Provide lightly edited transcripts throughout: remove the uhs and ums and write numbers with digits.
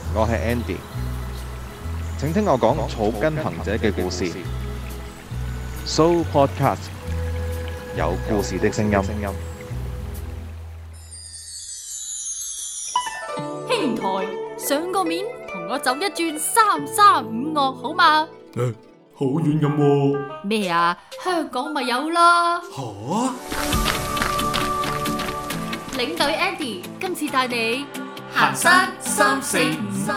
我係 Andy，請聽我講草根行者嘅故事。So Podcast 有故事的聲音。 兄台，上個面同我走一轉335樂好嘛？ 好遠咁喎。 咩啊？香港咪有啦。 吓？ 領隊 Andy 今次帶你行山345。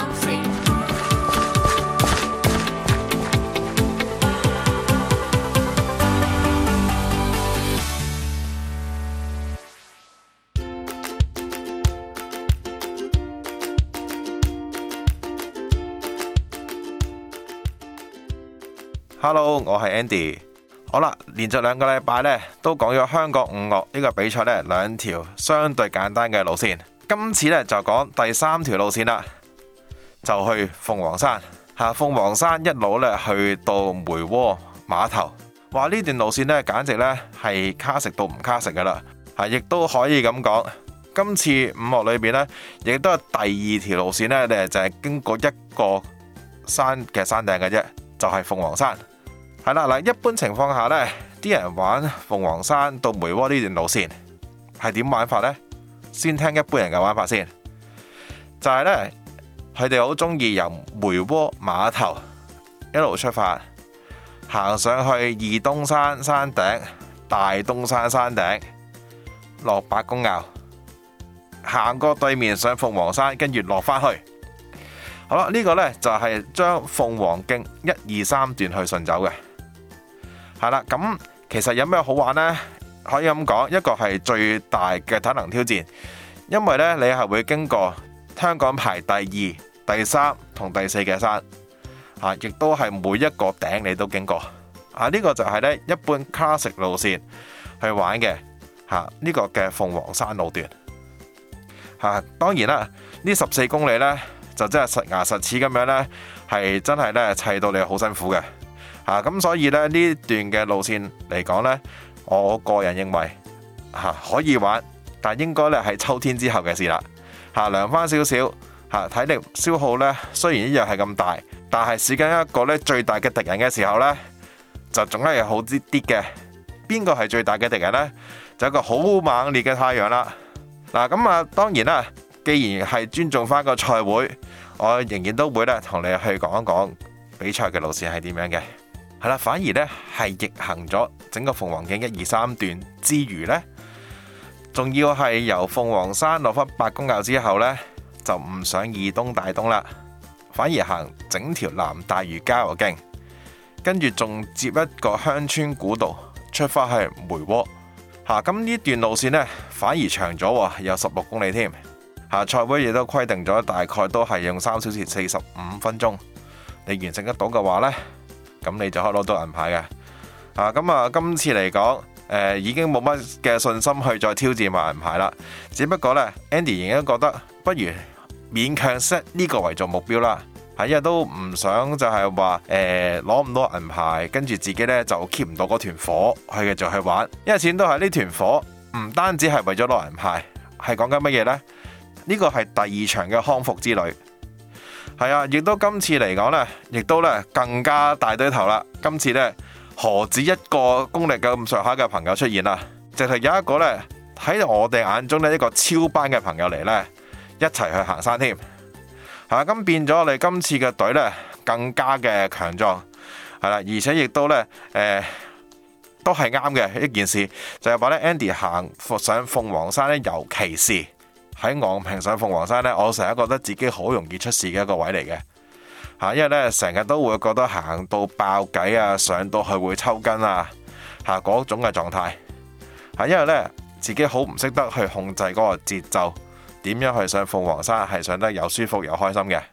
Hello， 我係 Andy。好啦，連續2個禮拜呢都講咗香港5樂呢個比賽呢2條相對簡單嘅路線。今次呢就講第3條路線啦，就去鳳凰山。鳳凰山一路呢去到梅窩碼頭。話呢段路線呢簡直呢係卡食到唔卡食噶啦。亦都可以咁講，今次5樂裏邊呢，亦都係第2條路線呢，就係經過一個山嘅山頂嘅啫，就係鳳凰山。係啦，嗱，一般情況下呢，啲人玩鳳凰山到梅窩呢段路線係點玩法呢？先聽一般人嘅玩法先，就係呢，佢哋好中意由梅窩碼頭一路出發，行上去二東山山頂、大東山山頂，落白公坳，行過對面上鳳凰山，跟住落返去。好啦，呢個呢就係將鳳凰徑1、2、3段去順走嘅。係啦，咁其實有咩好玩呢？可以咁講，一個係最大嘅體能挑戰，因為呢，你係會經過香港排第2、第3同第4嘅山，亦都係每一個頂你都經過。呢個就係呢一般 classic 路線去玩嘅呢個嘅鳳凰山路段。當然啦，呢14公里呢，就真係實牙實齒咁樣呢，係真係呢砌到你好辛苦嘅。咁所以呢，呢段嘅路線嚟講呢，我個人認為可以玩，但應該呢係秋天之後嘅事啦。涼翻少少，體力消耗呢雖然一樣係咁大，但係試緊一個呢最大嘅敵人嘅時候呢，就總係好啲啲嘅。邊個係最大嘅敵人呢？就一個好猛烈嘅太陽啦。咁當然啦，既然係尊重翻個賽會，我仍然都會呢同你去講一講比賽嘅路線係點樣嘅。係啦，反而呢係逆行咗整個鳳凰徑1、2、3段之餘呢，仲要係由鳳凰山落返白公坳之後呢，就唔上二東大東啦，反而行整條南大嶼郊遊徑，跟住仲接一個鄉村古道出返去梅窩。咁呢段路線呢，反而長咗，有16公里添。賽會亦都規定咗，大概都係用3小時45分鐘，你完成得到嘅話呢，咁你就可以攞到銀牌嘅。今次嚟講，已經冇乜嘅信心去再挑戰埋銀牌啦。只不過呢 Andy 仍然覺得不如勉強 set 呢個為做目標啦。因為都唔想就係話攞唔到銀牌，跟住自己呢就 keep 唔到嗰團火去繼續去玩。因為始終都係呢團火唔單止係為咗攞銀牌，係講緊乜嘢呢？呢個係第2場嘅康復之旅。亦都今次嚟講呢，亦都呢更加大堆頭啦。今次呢，何止一個功力咁上下嘅朋友出現啦，直係有一個呢，喺我哋眼中呢，一個超班嘅朋友嚟呢，一齊去行山添。咁變咗我哋今次嘅隊呢，更加嘅強壯，而且亦都呢，都係啱嘅一件事，就係話呢 Andy 行上鳳凰山呢，尤其是喺昂坪上鳳凰山呢，我成日覺得自己好容易出事嘅一個位嚟嘅。因為呢，成日都會覺得行到爆偈啊，上到去會抽筋啊，嗰種嘅狀態。因為呢，自己好唔識得去控制嗰個節奏，點樣去上鳳凰山係上得又舒服又開心嘅。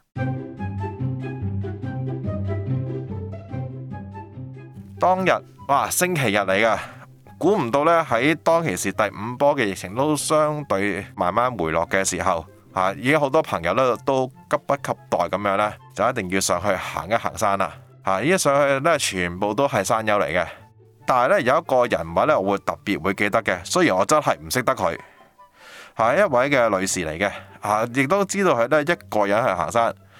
當日星期日嚟噶，估唔到呢，喺當其時第5波嘅疫情都相對慢慢回落嘅時候，已經好多朋友呢都急不及待咁樣呢，就一定要上去行一行山啦。依家上去呢，全部都係山友嚟嘅，但係呢，有一個人物呢，我會特別會記得嘅，雖然我真係唔識得佢。係一位嘅女士嚟嘅，亦都知道佢都係一個人去行山，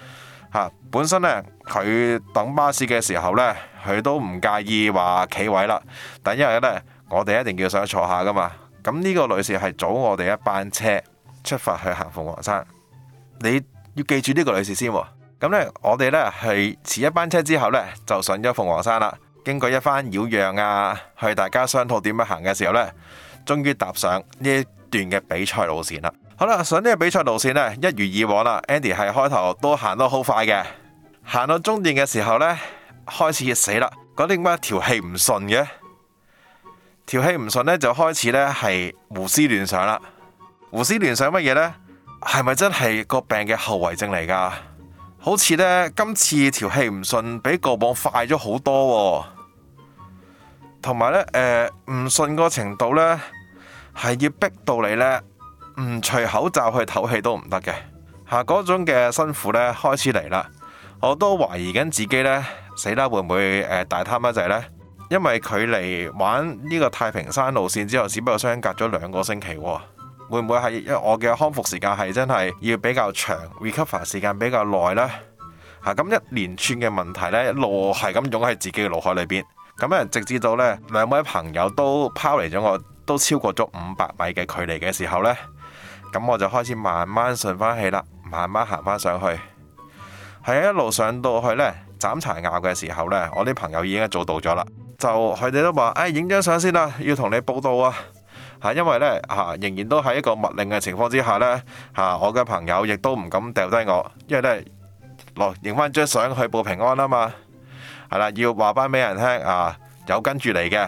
本身呢，佢等巴士嘅時候呢，佢都唔介意話企位啦，但因為呢，我哋一定要上去坐下噶嘛。咁呢個女士係早我哋一班車出發去行鳳凰山，你要記住呢個女士先喎。咁呢，我哋呢係遲一班車之後呢，就上咗鳳凰山啦。經過一番擾攘啊，去大家商討點樣行嘅時候呢，終於踏上呢一段嘅比賽路線啦。好啦，上呢個比賽路線呢，一如以往啦。Andy 係開頭都行得好快嘅，行到終點嘅時候呢，開始死啦，嗰啲點解條氣唔順嘅？條氣唔順呢，就開始呢係胡思亂想啦。胡思亂想乜嘢呢？係咪真係個病嘅後遺症嚟噶？好似呢，今次條氣唔順比過往快咗好多，同埋呢，唔順個程度呢，係要逼到你呢，唔除口罩去唞氣都唔得嘅。嗰種嘅辛苦呢，開始嚟啦。我都懷疑緊自己呢，死啦，會唔會大貪一滯呢？因為距離玩呢個太平山路線之後，只不過相隔咗2個星期，會唔會係因為我嘅康復時間係真係要比較長 ，recover 時間比較耐呢？咁一連串嘅問題呢，一路係咁湧喺自己嘅腦海裏邊。咁直至到呢2位朋友都拋離咗我，都超過咗500米嘅距離嘅時候呢，咁我就開始慢慢順翻氣啦，慢慢行翻上去。係一路上到去呢，斬柴拗嘅時候呢，我啲朋友已經做到咗啦。就佢哋都話，影張相先啦，要同你報到啊！因為呢，仍然都喺一個密令嘅情況之下呢，我嘅朋友亦都唔敢掉低我，因為呢，落影翻張相去報平安啊嘛。係啦，要話翻俾人聽有跟住嚟嘅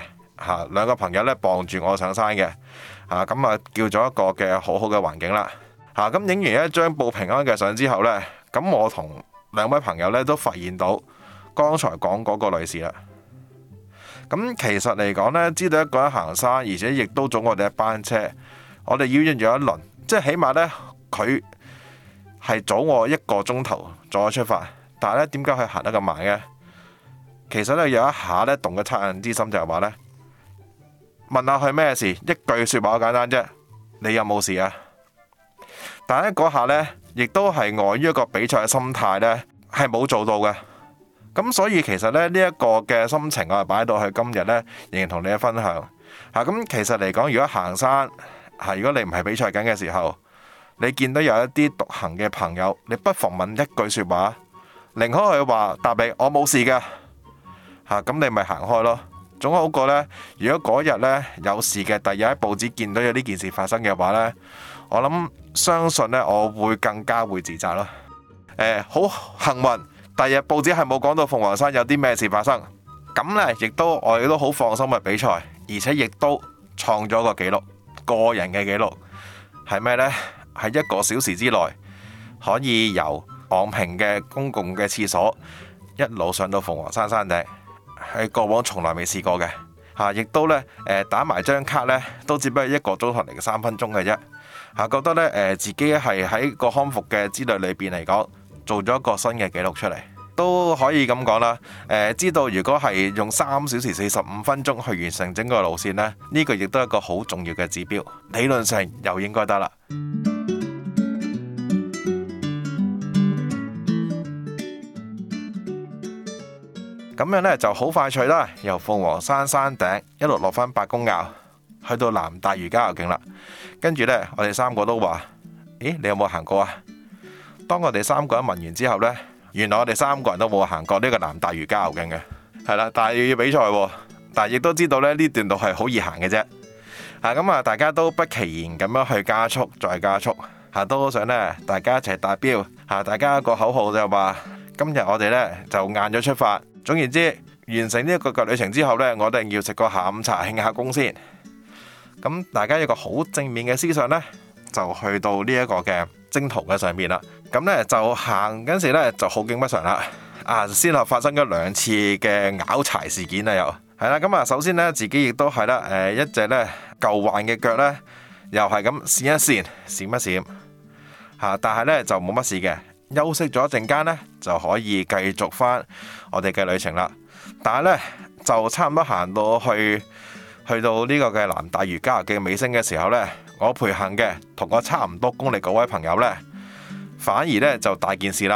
2個朋友呢，傍住我上山嘅咁叫咗一個嘅好好嘅環境啦。咁影完一張報平安嘅相之後呢，咁我同2位朋友呢都發現到剛才講嗰個女士啦。咁其實嚟講呢，知道一個人行山，而且亦都早我哋一班車，我哋擾攘咗一輪，即係起碼呢，佢係早我1個鐘頭再出發，但係呢，點解佢行得咁慢嘅？其實呢，有一下呢，動咗惻隱之心，就係話呢，問下佢咩事，一句說話好簡單啫，你有冇事啊？但係呢，嗰下呢，亦都係礙於一個比賽嘅心態呢，係冇做到嘅。咁所以其實呢一個嘅心情我係擺到去今日呢，仍然同你嘅分享。咁其實嚟講，如果行山如果你唔係比賽緊嘅時候，你見到有一啲獨行嘅朋友，你不妨問一句說話，寧可佢話答你我冇事㗎，咁你咪行開咯。總好過呢，如果嗰日呢有事嘅，第日喺報紙見到有呢件事發生嘅話呢，我諗相信呢，我會更加會自責咯。好幸運。第日報紙係冇講到鳳凰山有啲咩事發生，咁呢，我亦都好放心嘅比賽，而且亦都創咗個紀錄，個人嘅紀錄係咩呢？係1個小時之內可以由昂坪嘅公共嘅廁所一路上到鳳凰山山頂，係過往從來未試過嘅。亦都呢，打埋張卡呢，都只不過1個鐘頭零3分鐘嘅啫。覺得呢，自己係喺個康復嘅之旅裏邊嚟講，做咗一個新嘅紀錄出嚟，都可以咁講啦。知道如果係用3小時45分鐘去完成整個路線呢，呢個亦都係一個好重要嘅指標，理論上又應該得啦。咁樣呢就好快脆啦，由鳳凰山山頂一路落返伯公坳，去到南大嶼郊遊徑啦。跟住呢，我哋3個都話：咦，你有冇行過啊？當我哋3個人問完之後呢，原來我哋3個人都冇行過呢個南大嶼郊遊徑嘅，係啦，但係要比賽喎，但係亦都知道呢段路係好易行嘅啫。咁大家都不其然咁樣去加速，再加速，都想呢大家一齊達標，大家個口號就話：今日我哋呢就晏咗出發。總言之，完成呢一個旅程之後呢，我哋要食個下午茶慶下功先。咁大家有個好正面嘅思想呢，就去到呢一個嘅征途嘅上面啦。咁呢，就行嗰時呢，就好景不常啦。先後發生咗2次嘅拗柴事件啊，又係啦。咁首先呢，自己亦都係啦，一隻呢舊患嘅腳呢，又係咁閃一閃，閃一閃，但係呢，就冇乜事嘅。休息咗一陣間呢，就可以繼續翻我哋嘅旅程啦。但係呢，就差唔多行到去到呢個嘅南大嶼郊遊徑尾聲嘅時候呢，我陪行嘅同我差唔多公里嗰位朋友呢，反而呢就大件事啦。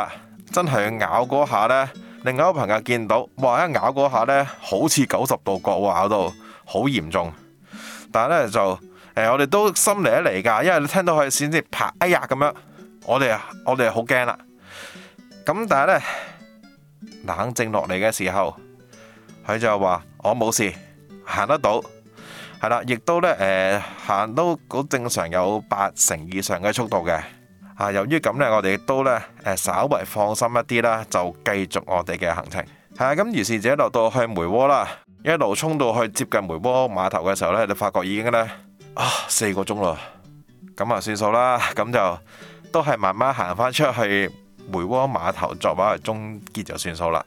真係咬嗰下呢，另外一個朋友見到，哇！一咬嗰下呢，好似90度角喎，咬到好嚴重。但係呢，就我哋都心嚟一嚟㗎，因為你聽到佢先至啪哎呀咁樣，我哋好驚啦。咁但係呢，冷靜落嚟嘅時候，佢就話我冇事，行得到，係啦，亦都呢，行都好正常，有80%以上嘅速度嘅。由於咁呢，我哋亦都呢，稍為放心一啲啦，就繼續我哋嘅行程。係啊，咁於是者落到去梅窩啦，一路衝到去接近梅窩碼頭嘅時候呢，你發覺已經呢4個鐘啦。咁啊算數啦，咁就都係慢慢行返出去梅窩碼頭作為終結就算數啦。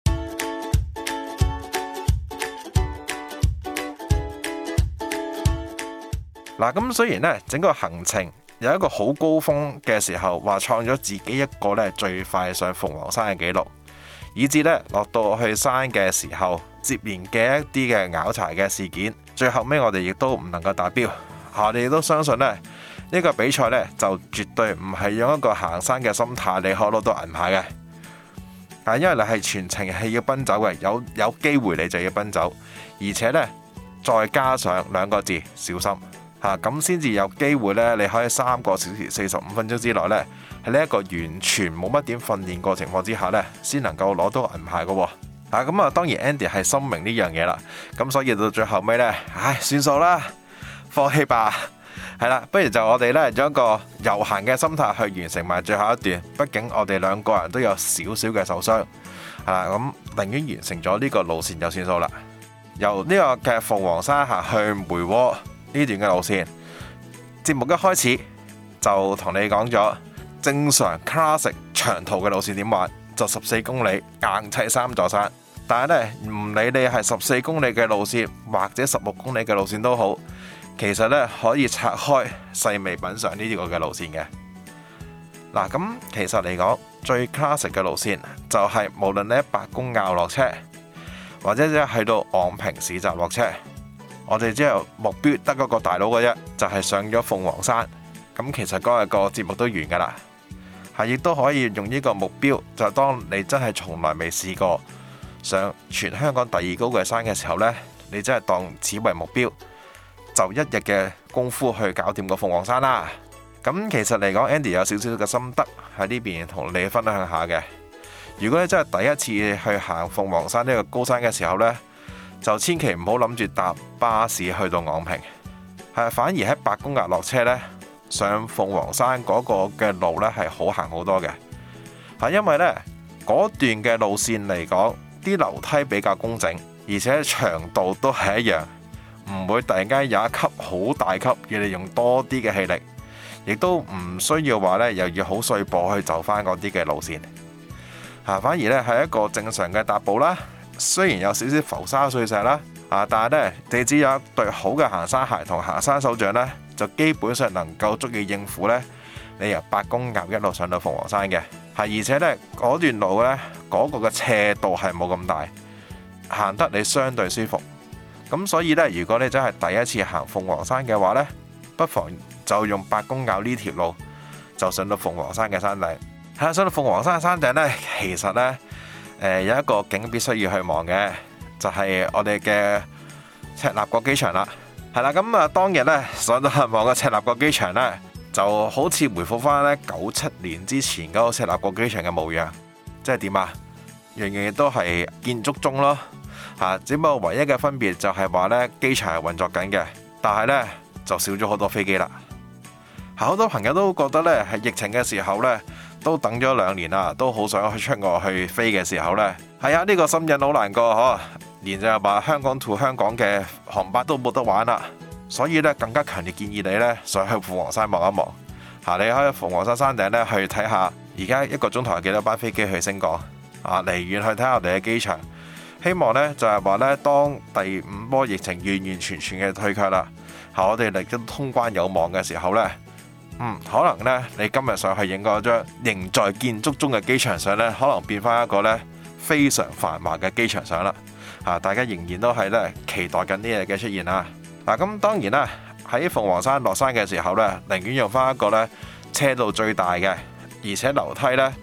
嗱，咁雖然呢，整個行程有一個好高峰嘅時候，話創咗自己一個呢最快上鳳凰山嘅紀錄，以至呢落到去山嘅時候，接連嘅一啲嘅拗柴嘅事件，最後尾我哋亦都唔能夠達標。我哋亦都相信呢，呢個比賽呢，就絕對唔係用一個行山嘅心態你可攞到銀牌嘅。因為你係全程係要奔走嘅，有機會你就要奔走，而且呢，再加上2個字小心。咁先至有機會呢，你可以3個小時45分鐘之內呢，喺呢一個完全冇乜點訓練過情況之下呢，先能夠攞到銀牌嘅。咁啊，當然 Andy 係深明呢樣嘢啦，咁所以到最後尾呢，算數啦，放棄吧。係啦，不如就我哋呢，用一個悠閒嘅心態去完成埋最後一段。畢竟我哋2個人都有少少嘅受傷，係啦，咁寧願完成咗呢個路線就算數啦。由呢個嘅鳳凰山行去梅窩呢段嘅路線，節目一開始就同你講咗正常 classic 長途嘅路線點玩，就14公里硬砌3座山。但係呢，唔理你係14公里嘅路線或者16公里嘅路線都好，其實呢可以拆開細微品嘗呢個嘅路線嘅。嗱，咁其實嚟講最 classic 嘅路線就係無論你喺白公坳落車，或者即係去到昂坪市集落車，我哋之後目標得嗰個大佬嘅啫，就係上咗鳳凰山。咁其實嗰日個節目都完噶啦，亦都可以用呢個目標，就係當你真係從來未試過上全香港第2高嘅山嘅時候呢，你真係當此為目標，就1日嘅功夫去搞掂個鳳凰山啦。咁其實嚟講 Andy 有少少嘅心得喺呢邊同你分享下嘅。如果你真係第一次去行鳳凰山呢個高山嘅時候呢，就千祈唔好諗住搭巴士去到昂坪，反而喺白公坳落車呢，上鳳凰山嗰個嘅路呢係好行好多嘅。因為呢嗰段嘅路線嚟講，啲樓梯比較工整，而且長度都係一樣，唔會突然間有一級好大級要你用多啲嘅氣力，亦都唔需要話呢又要好碎步去走翻嗰啲嘅路線。反而呢係一個正常嘅踏步啦。雖然有少少浮沙碎石啦，但係呢，你只有一對好嘅行山鞋同行山手杖呢，就基本上能夠足以應付呢你由白公坳一路上到鳳凰山嘅。而且呢，嗰段路呢，嗰個嘅斜度係冇咁大，行得你相對舒服。咁所以呢，如果你真係第一次行鳳凰山嘅話呢，不妨就用白公坳呢條路就上到鳳凰山嘅山頂。上到鳳凰山嘅山頂呢，其實呢，有一個景必須要去望嘅，就係我哋嘅赤鱲角機場啦。係啦，咁啊當日呢，上到去望個赤鱲角機場呢，就好似回復翻呢97年之前嗰個赤鱲角機場嘅模樣。即係點啊？樣樣嘢都係建築中咯，只不過唯一嘅分別就係話呢，機場係運作緊嘅，但係呢，就少咗好多飛機啦。好多朋友都覺得呢，係疫情嘅時候呢，都等咗2年啦，都好想去出外去飛嘅時候呢，呢個心癮好難過嗬，連就係話香港to香港嘅航班都冇得玩啦，所以呢，更加強烈建議你呢，上去鳳凰山望一望。你可以鳳凰山山頂呢，去睇下，而家1個鐘頭有幾多班飛機去升降。離遠去睇下我哋嘅機場，希望呢，就係話呢，當第5波疫情完完全全嘅退卻啦，我哋嚟緊通關有望嘅時候呢，可能呢，你今日上去影嗰張仍在建築中嘅機場相呢，可能變翻一個呢非常繁華嘅機場相啦。大家仍然都係呢期待緊呢日嘅出現啦。咁當然啦，喺鳳凰山落山嘅時候呢，寧願用翻一個呢車道最大嘅，而且樓梯呢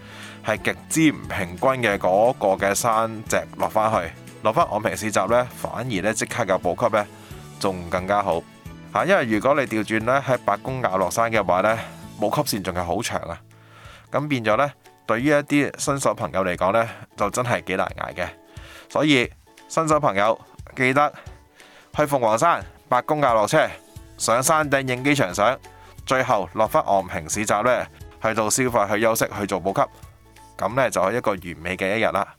係極之唔平均嘅嗰個嘅山脊落返去，落返昂坪市集呢，反而呢即刻有補給呢，仲更加好嚇。因為如果你調轉呢喺白公坳落山嘅話呢，補給線仲係好長啊，咁變咗呢，對於一啲新手朋友嚟講呢，就真係幾難捱嘅。所以新手朋友記得去鳳凰山白公坳落車，上山頂影幾場相，最後落返昂坪市集呢，去到消費去休息去做補給，咁呢就係一個完美嘅一日啦。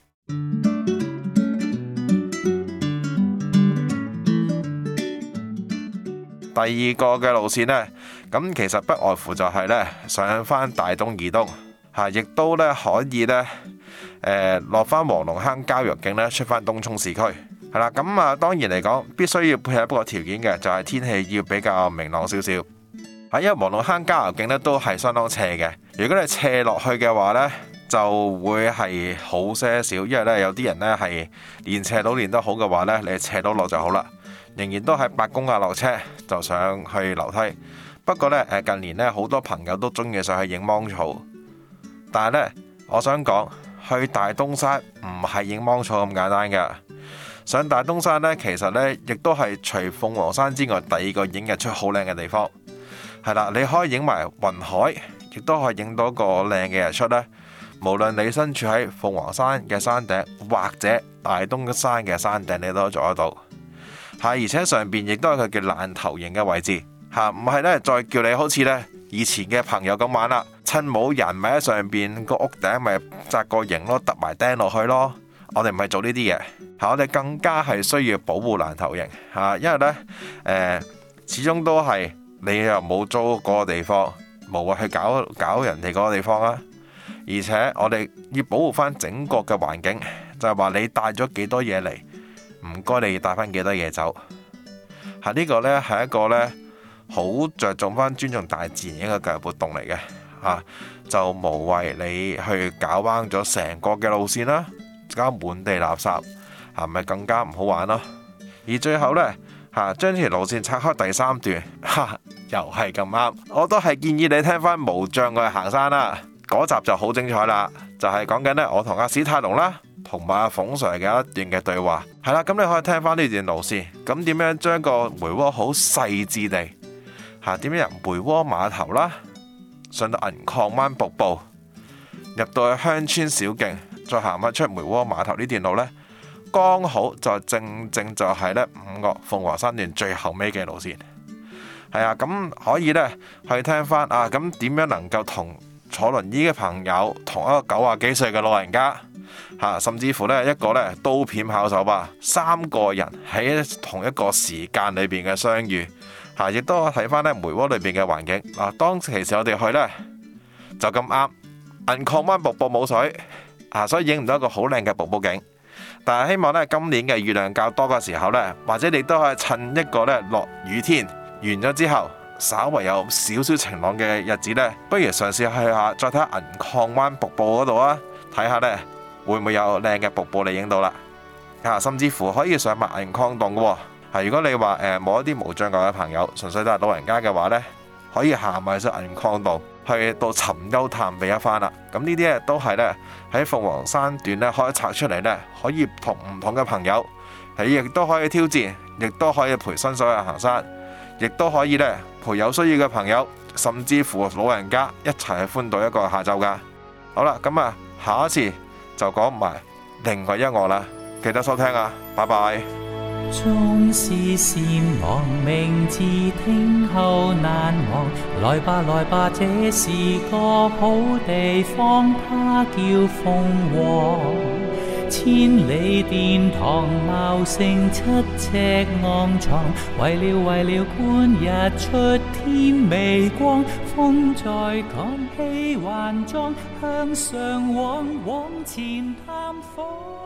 第二個嘅路線呢，咁其實不外乎就係呢上返大東二東嚇，亦都呢可以呢落返黃龍坑郊陽徑呢，出返東涌市區係啦。咁啊當然嚟講，必須要配合一個條件嘅，就係天氣要比較明朗少少。因為黃龍坑郊陽徑呢都係相當斜嘅，如果你斜落去嘅話呢，就會係好些少，因為呢有啲人呢係練斜路練得好嘅話呢，你斜到落就好啦。仍然都喺白公坳落車就上去樓梯。不過呢，近年呢好多朋友都中意上去影芒草，但係呢，我想講去大東山唔係影芒草咁簡單㗎。上大東山呢，其實呢亦都係除鳳凰山之外第二個影日出好靚嘅地方。係啦，你可以影埋雲海，亦都可以影到個靚嘅日出呢。無論你身處喺鳳凰山嘅山頂或者大東山嘅山頂，你都做得到。而且上邊亦都係佢嘅爛頭型嘅位置嚇，唔係呢再叫你好似呢以前嘅朋友咁玩啦，趁冇人咪喺上邊個屋頂咪紮個營咯，揼埋釘落去咯。我哋唔係做呢啲嘢嚇，我哋更加係需要保護爛頭型嚇，因為呢始終都係你又冇租嗰個地方，無謂去搞人哋嗰個地方啦。而且我哋要保護翻整個嘅環境，就係話你帶咗幾多嘢嚟，唔該你要帶翻幾多嘢走。呢個呢係一個呢好着重翻尊重大自然一個教育活動嚟嘅嚇，就無謂你去搞彎咗成個嘅路線啦，搞滿地垃圾，係咪更加唔好玩咯？而最後呢，將條路線拆開第三段，又係咁啱，我都係建議你聽翻無障礙行山啦。嗰集就好精彩啦，就係講緊呢我同阿史泰龍啦，同埋阿馮 Sir 嘅一段嘅對話。係啦，咁你可以聽翻呢段路線，咁點樣將個梅窩好細緻地點樣由梅窩碼頭啦，上到銀礦灣瀑布，入到去鄉村小徑，再行翻出梅窩碼頭呢段路呢，剛好就正就係呢五岳鳳凰山段最後尾嘅路線。係啊，咁可以呢去聽翻啊，咁點樣能夠同坐輪椅嘅朋友，同一個90幾歲嘅老人家甚至乎呢一個呢刀片跑手吧，3個人喺同一個時間裏邊嘅相遇，亦都睇翻呢梅窩裏邊嘅環境。當其時我哋去呢，就咁啱銀礦灣瀑布冇水所以影唔到一個好靚嘅瀑布景。但係希望呢今年嘅雨量較多嘅時候呢，或者你都可以趁一個呢落雨天完咗之後，稍為有少少晴朗嘅日子呢，不如嘗試去下，再睇下銀礦灣瀑布嗰度啊，睇下呢會唔會有靚嘅瀑布你影到啦。甚至乎可以上埋銀礦洞嘅喎。如果你話冇一啲無障礙嘅朋友，純粹都係老人家嘅話呢，可以行埋上銀礦洞去到尋幽探秘一番啦。咁呢啲都係呢喺鳳凰山段呢可以拆出嚟呢，可以同唔同嘅朋友，亦都可以挑戰，亦都可以陪新手去行山，亦都可以呢陪有需要嘅朋友，甚至乎老人家一齊去歡度一個下晝噶。好啦，咁下一次就講埋另外一樂啦，記得收聽啊，拜拜。 縱是善忘，明字聽後難忘。來吧來吧，這是個好地方，它叫鳳凰。千里殿堂，茂盛7尺昂藏，為了觀日出天微光。風在趕氣還壯，向上往前探訪。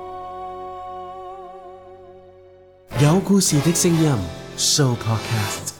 有故事的聲音 Show Podcast。